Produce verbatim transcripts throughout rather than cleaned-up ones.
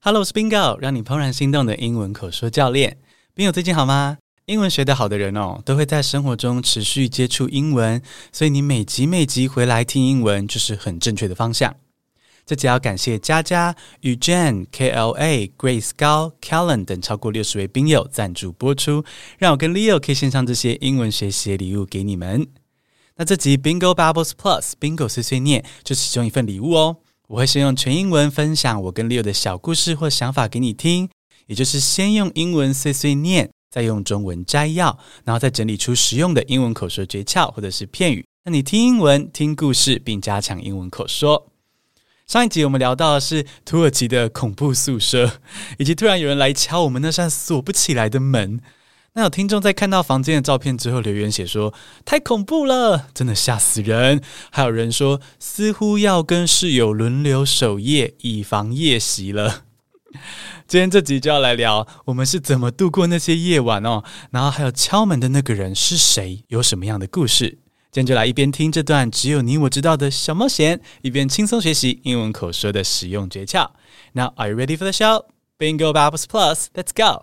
Hello， 我是 Bingo， 讓你怦然心動的英文口說教練。Bingo 最近好嗎？英文學得好的人哦，都會在生活中持續接觸英文，所以你每集每集回來聽英文就是很正確的方向。這集要感謝佳佳、與 Jen、K L A、Grace 高、Kellen 等超過六十位賓友贊助播出，讓我跟 Leo 可以獻上這些英文學習禮物給你們。那這集 Bingo Bubbles Plus Bingo 碎碎念就是其中一份禮物哦。我會先用全英文分享我跟 Leo 的小故事或想法給你聽，也就是先用英文碎碎念，再用中文摘要，然後再整理出實用的英文口說訣竅或者是片語，讓你聽英文、聽故事，並加強英文口說。上一集我們聊到的是土耳其的恐怖宿舍，以及突然有人來敲我們那扇鎖不起來的門。那有聽眾在看到房間的照片之後留言寫說，太恐怖了，真的嚇死人。還有人說似乎要跟室友輪流守夜，以防夜襲了。今天這集就要來聊我們是怎麼度過那些夜晚哦，然後還有敲門的那個人是誰，有什麼樣的故事。今天就來一邊聽這段只有你我知道的小冒險，一邊輕鬆學習英文口說的實用訣竅。Now are you ready for the show? Bingo Bubbles Plus, let's go!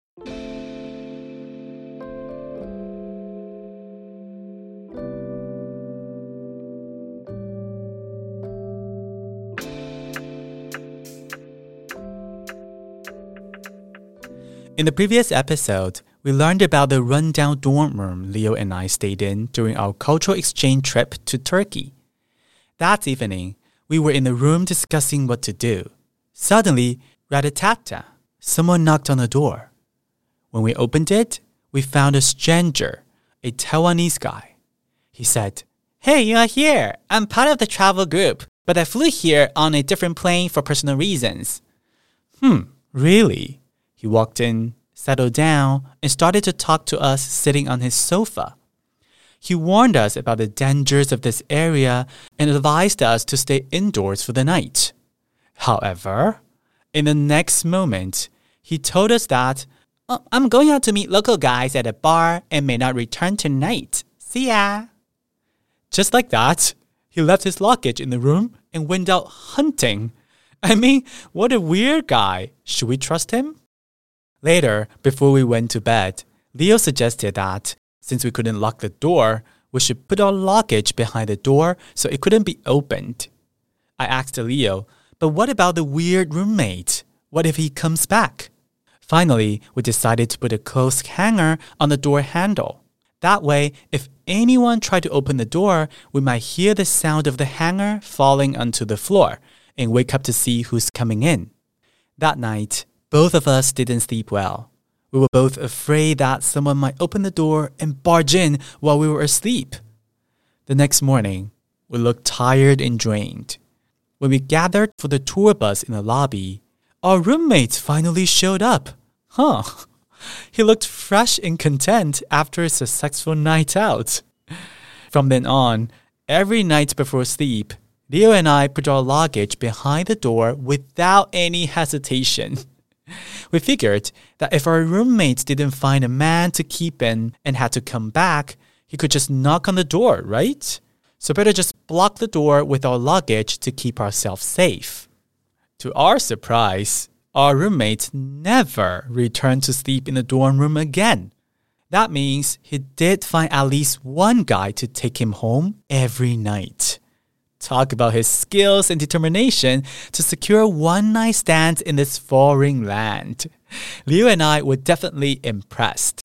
In the previous episode, we learned about the rundown dorm room Leo and I stayed in during our cultural exchange trip to Turkey. That evening, we were in the room discussing what to do. Suddenly, rat-a-tat-tat, someone knocked on the door. When we opened it, we found a stranger, a Taiwanese guy. He said, "Hey, you are here. I'm part of the travel group, but I flew here on a different plane for personal reasons." Hmm, really? He walked in, settled down, and started to talk to us sitting on his sofa. He warned us about the dangers of this area and advised us to stay indoors for the night. However, in the next moment, he told us that, oh, I'm going out to meet local guys at a bar and may not return tonight. See ya. Just like that, he left his luggage in the room and went out hunting. I mean, what a weird guy. Should we trust him? Later, before we went to bed, Leo suggested that, since we couldn't lock the door, we should put our luggage behind the door so it couldn't be opened. I asked Leo, but what about the weird roommate? What if he comes back? Finally, we decided to put a clothes hanger on the door handle. That way, if anyone tried to open the door, we might hear the sound of the hanger falling onto the floor and wake up to see who's coming in. That night, both of us didn't sleep well. We were both afraid that someone might open the door and barge in while we were asleep. The next morning, we looked tired and drained. When we gathered for the tour bus in the lobby, our roommate finally showed up. Huh. He looked fresh and content after a successful night out. From then on, every night before sleep, Leo and I put our luggage behind the door without any hesitation. We figured that if our roommate didn't find a man to keep in and had to come back, he could just knock on the door, right? So better just block the door with our luggage to keep ourselves safe. To our surprise, our roommate never returned to sleep in the dorm room again. That means he did find at least one guy to take him home every night. Talk about his skills and determination to secure one night stands in this foreign land. Leo and I were definitely impressed.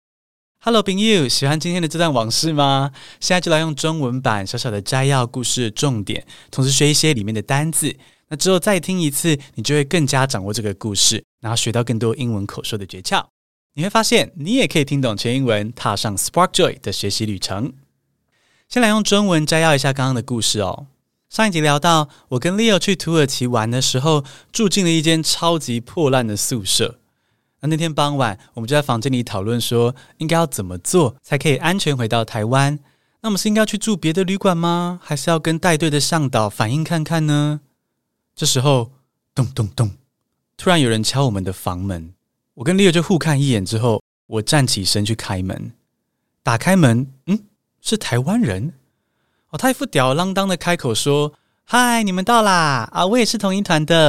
Hello, 朋友，喜歡今天的這段往事嗎？現在就來用中文版小小的摘要故事的重點，同時學一些裡面的單字。那之後再聽一次，你就會更加掌握這個故事，然後學到更多英文口說的訣竅。你會發現，你也可以聽懂全英文，踏上 Spark Joy 的學習旅程。先來用中文摘要一下剛剛的故事哦。上一集聊到，我跟 Leo 去土耳其玩的時候，住進了一間超級破爛的宿舍。那那天傍晚，我們就在房間裡討論說，應該要怎麼做才可以安全回到台灣？那我們是應該要去住別的旅館嗎？還是要跟帶隊的向導反映看看呢？這時候，咚咚咚，突然有人敲我們的房門。我跟 Leo 就互看一眼之後，我站起身去開門。打開門，嗯？是台灣人哦，他一副吊兒郎當的開口說：“嗨，你們到啦！啊，我也是同一團的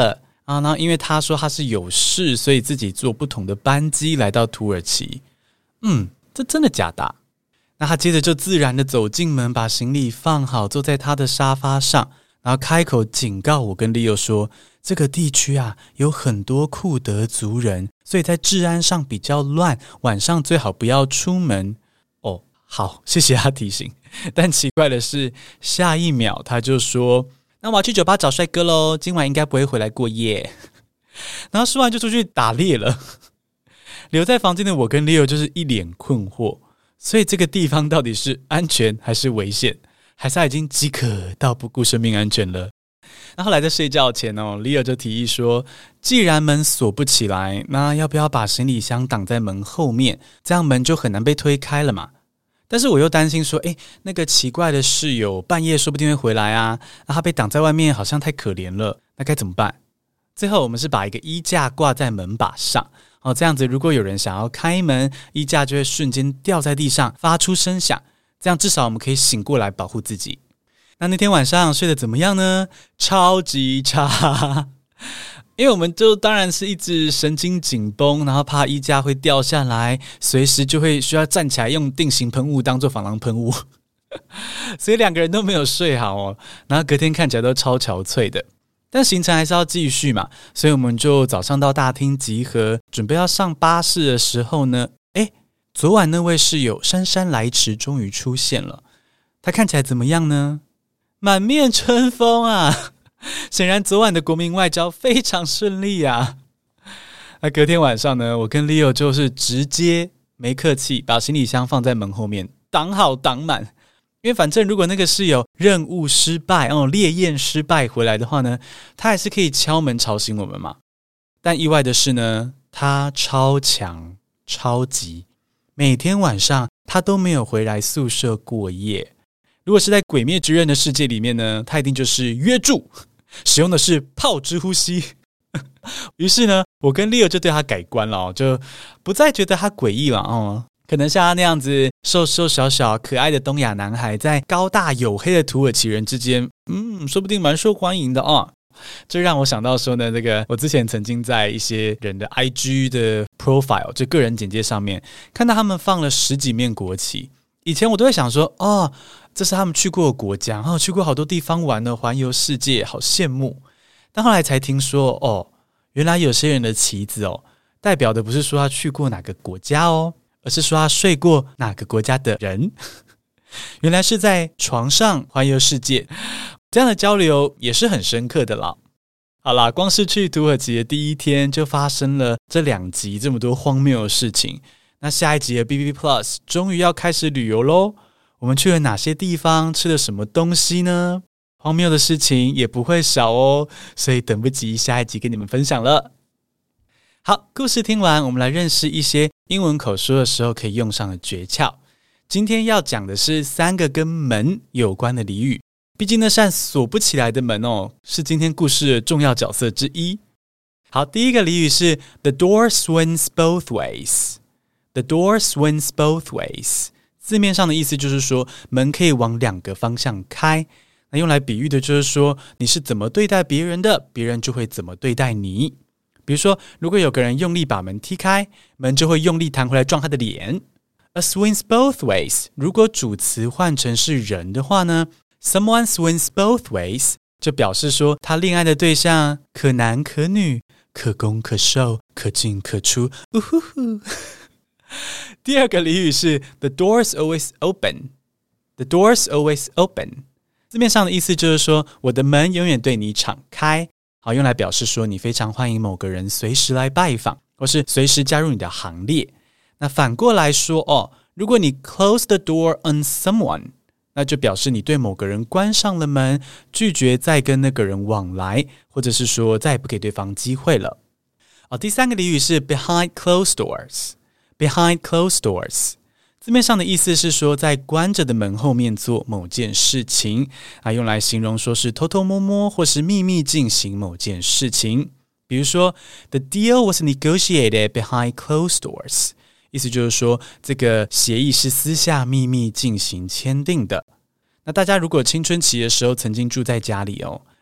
啊。然後因為他說他是有事，所以自己坐不同的班機來到土耳其。嗯，這真的假的啊？那他接着就自然的走進門，把行李放好，坐在他的沙發上，然後開口警告我跟 Leo 說，這個地區啊有很多庫德族人，所以在治安上比較亂，晚上最好不要出門。哦，好，謝謝他提醒。但奇怪的是，下一秒他就說，那我要去酒吧找帥哥咯，今晚應該不會回來過夜。然後說完就出去打獵了。留在房間的我跟 Leo 就是一臉困惑，所以這個地方到底是安全還是危險，還是他已經飢渴到不顧生命安全了？那後來在睡覺前哦 Leo 就提議說，既然門鎖不起來，那要不要把行李箱擋在門後面，這樣門就很難被推開了嘛。但是我又擔心說，誒，那個奇怪的室友半夜說不定會回來啊，那他被擋在外面好像太可憐了，那該怎麼辦？最後我們是把一個衣架掛在門把上，哦，這樣子如果有人想要開門，衣架就會瞬間掉在地上發出聲響，這樣至少我們可以醒過來保護自己。那那天晚上睡得怎麼樣呢？超級差。因為我們就當然是一直神經緊繃，然後怕衣架會掉下來，隨時就會需要站起來用定型噴霧當做防狼噴霧，所以兩個人都沒有睡好哦，然後隔天看起來都超憔悴的。但行程還是要繼續嘛，所以我們就早上到大廳集合，準備要上巴士的時候呢，誒，昨晚那位室友姍姍來遲終於出現了，他看起來怎麼樣呢？滿面春風啊！顯然昨晚的國民外交非常順利啊。那隔天晚上呢，我跟 Leo 就是直接沒客氣把行李箱放在門後面擋好擋滿，因為反正如果那個室友任務失敗哦，烈焰失敗回來的話呢，他還是可以敲門吵醒我們嘛。但意外的是呢，他超強超級，每天晚上他都沒有回來宿舍過夜。如果是在鬼滅之刃的世界裡面呢，他一定就是約住，使用的是炮之呼吸。於是呢，我跟 Leo 就對他改觀了哦，就不再覺得他詭異了哦。可能像他那樣子瘦瘦小小可愛的東亞男孩，在高大黝黑的土耳其人之間，嗯，說不定蠻受歡迎的哦。這讓我想到說呢，這個我之前曾經在一些人的 I G 的 profile 就個人簡介上面看到他們放了十幾面國旗。以前我都會想說，哦，這是他們去過的國家，哦，去過好多地方玩了，環遊世界，好羨慕。但後來才聽說，哦，原來有些人的旗子哦，代表的不是說他去過哪個國家哦，而是說他睡過哪個國家的人。原來是在床上環遊世界，這樣的交流也是很深刻的啦。好啦，光是去土耳其的第一天就發生了這兩集這麼多荒謬的事情。那下一集的 B B Plus 終於要開始旅遊嘍！我們去了哪些地方？吃了什麼東西呢？荒謬的事情也不會少哦，所以等不及下一集跟你們分享了。好，故事聽完，我們來認識一些英文口說的時候可以用上的訣竅。今天要講的是三個跟門有關的俚語，畢竟那扇鎖不起來的門哦，是今天故事的重要角色之一。好，第一個俚語是 The door swings both ways。The door swings both ways， 字面上的意思就是說門可以往兩個方向開，那用來比喻的就是說你是怎麼對待別人的，別人就會怎麼對待你。比如說，如果有個人用力把門踢開，門就會用力彈回來撞他的臉。A swings both ways， 如果主詞換成是人的話呢， Someone swings both ways 就表示說他戀愛的對象可男可女，可攻可受，可進可出。嗚呼呼。第二個俚語是 The door's always open。 The door's always open 字面上的意思就是說我的門永遠對你敞開，好，用來表示說你非常歡迎某個人隨時來拜訪，或是隨時加入你的行列。那反過來說哦，如果你 close the door on someone， 那就表示你對某個人關上了門，拒絕再跟那個人往來，或者是說再也不給對方機會了。哦，第三個俚語是 Behind closed doors。Behind closed doors 字面上的意思是說在關着的門後面做某件事情啊，用來形容說是偷偷摸摸或是秘密進行某件事情。比如說 The deal was negotiated behind closed doors， 意思就是說這個協議是私下秘密進行簽訂的。那大家如果青春期的時候曾經住在家裡哦，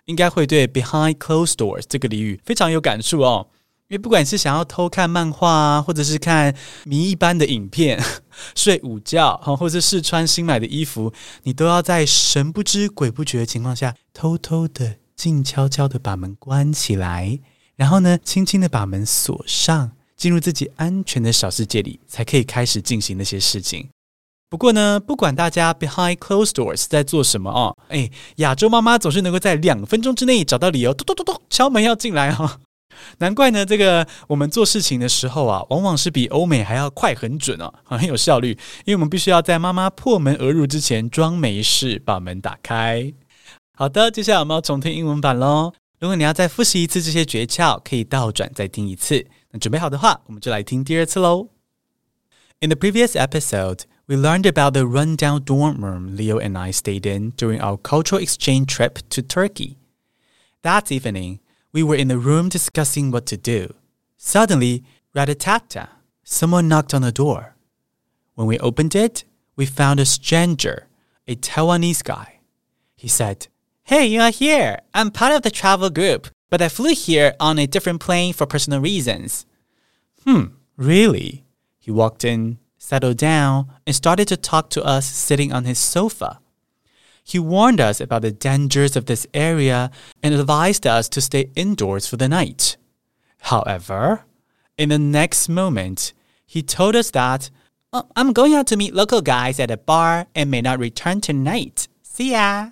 應該會對 behind closed doors 這個俚語非常有感觸哦。因為不管是想要偷看漫畫啊，或者是看迷一般的影片、睡午覺，或者是試穿新買的衣服，你都要在神不知鬼不覺的情況下，偷偷的、靜悄悄的把門關起來，然後呢，輕輕的把門鎖上，進入自己安全的小世界裡，才可以開始進行那些事情。不過呢，不管大家 behind closed doors 在做什麼哦，哎，亞洲媽媽總是能夠在兩分鐘之內找到理由，咚咚咚咚敲門要進來哦。難怪呢，這個我們做事情的時候啊，往往是比歐美還要快很準哦，很有效率。因為我們必須要在媽媽破門而入之前裝沒事，把門打開。好的，接下來我們要重聽英文版咯。如果你要再複習一次這些訣竅，可以倒轉再聽一次。那準備好的話，我們就來聽第二次咯。In the previous episode, we learned about the rundown dorm room Leo and I stayed in during our cultural exchange trip to Turkey. That evening, we were in the room discussing what to do. Suddenly, rat-a-tat-tat, someone knocked on the door. When we opened it, we found a stranger, a Taiwanese guy. He said, "Hey, you are here. I'm part of the travel group, but I flew here on a different plane for personal reasons." Hmm, really? He walked in, settled down, and started to talk to us sitting on his sofa. He warned us about the dangers of this area and advised us to stay indoors for the night. However, in the next moment, he told us that, oh, I'm going out to meet local guys at a bar and may not return tonight. See ya.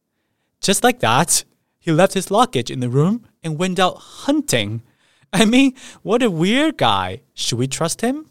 Just like that, he left his luggage in the room and went out hunting. I mean, what a weird guy. Should we trust him?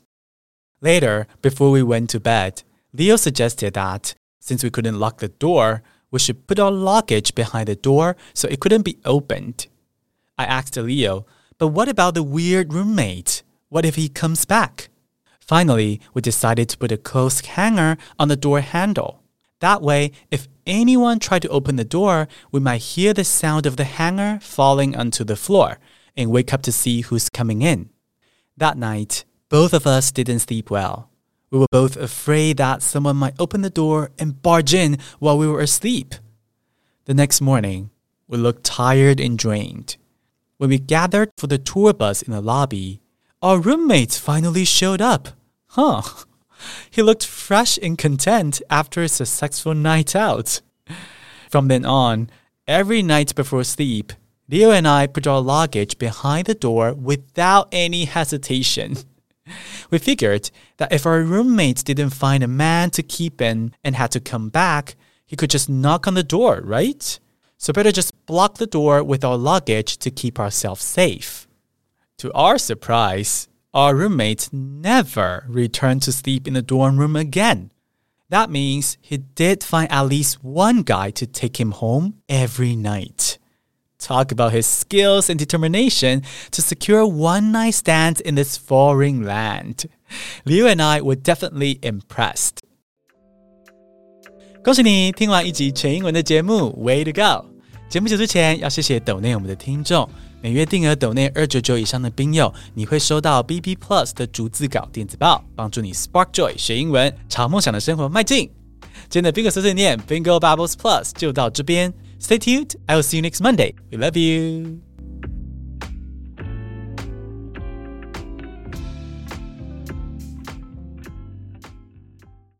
Later, before we went to bed, Leo suggested that since we couldn't lock the door, we should put our luggage behind the door so it couldn't be opened. I asked Leo, but what about the weird roommate? What if he comes back? Finally, we decided to put a clothes hanger on the door handle. That way, if anyone tried to open the door, we might hear the sound of the hanger falling onto the floor and wake up to see who's coming in. That night, both of us didn't sleep well.We were both afraid that someone might open the door and barge in while we were asleep. The next morning, we looked tired and drained. When we gathered for the tour bus in the lobby, our roommate finally showed up. Huh. He looked fresh and content after a successful night out. From then on, every night before sleep, Leo and I put our luggage behind the door without any hesitation.We figured that if our roommate didn't find a man to keep in and had to come back, he could just knock on the door, right? So better just block the door with our luggage to keep ourselves safe. To our surprise, our roommate never returned to sleep in the dorm room again. That means he did find at least one guy to take him home every night.Talk about his skills and determination to secure one-night stands in this foreign land. Leo and I were definitely impressed. 恭喜你聽完一集全英文的節目 Way to go! 節目結束前要謝謝抖內我們的聽眾，每月訂額抖內二百九十九以上的賓友，你會收到 B B Plus 的逐字稿電子報，幫助你 Spark Joy 學英文，朝夢想的生活邁進。今天的 Bingo 碎碎念 Bingo Bubbles Plus 就到這邊。Stay tuned. I will see you next Monday. We love you.